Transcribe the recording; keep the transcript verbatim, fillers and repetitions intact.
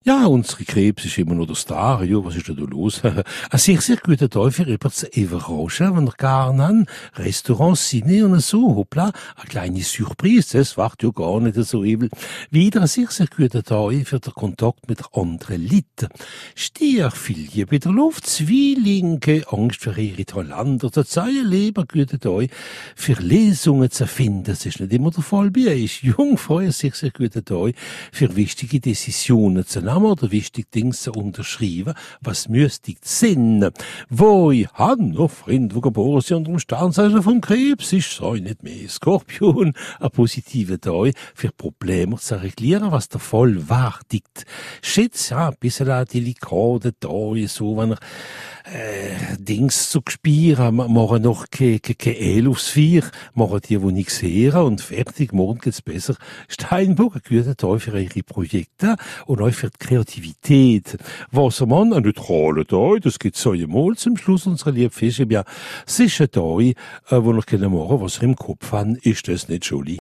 Ja, unsere Krebs ist immer noch der Star. Ja, was ist denn da los? Ein sehr, sehr guter Tag für jemanden zu überraschen, wenn er gar nicht Restaurants, Cine und so. Hoppla, eine kleine Surprise, das macht ja gar nicht so übel. Wieder ein sehr, sehr guter Tag für den Kontakt mit anderen Leuten. Stier viel Liebe in der Luft, Zwillinge, Angst für ihre Talente, der Zeilen Leben, guter Tag für Lesungen zu finden. Das ist nicht immer der Fall bei euch. Jungfrau, ein sehr, sehr guter Tag für wichtige Decisionen zu nehmen oder wichtige Dinge zu unterschreiben, was müsste sein. Wo ich habe noch Freunde, die geboren sind unter dem Sternzeichen vom Krebs, ist so nicht mehr Skorpion, ein positiver Tag für Probleme zu reglieren, was der Fall wartet. Schätze, ja, ein bisschen ein delikater Tag, so, wenn er äh, Dings zu spüren, machen noch keine ke, ke El aufs Vier, machen die, die nichts hören und fertig, morgen geht's besser. Steinbock, ein guter Tag für eure Projekte und auch für die Kreativität. Wassermann, ein neutraler Tag, das geht so einmal zum Schluss unserer lieben Fische. Ja, es ist ein Tag, äh, wo wir machen können, was wir im Kopf haben, ist das nicht schuldig.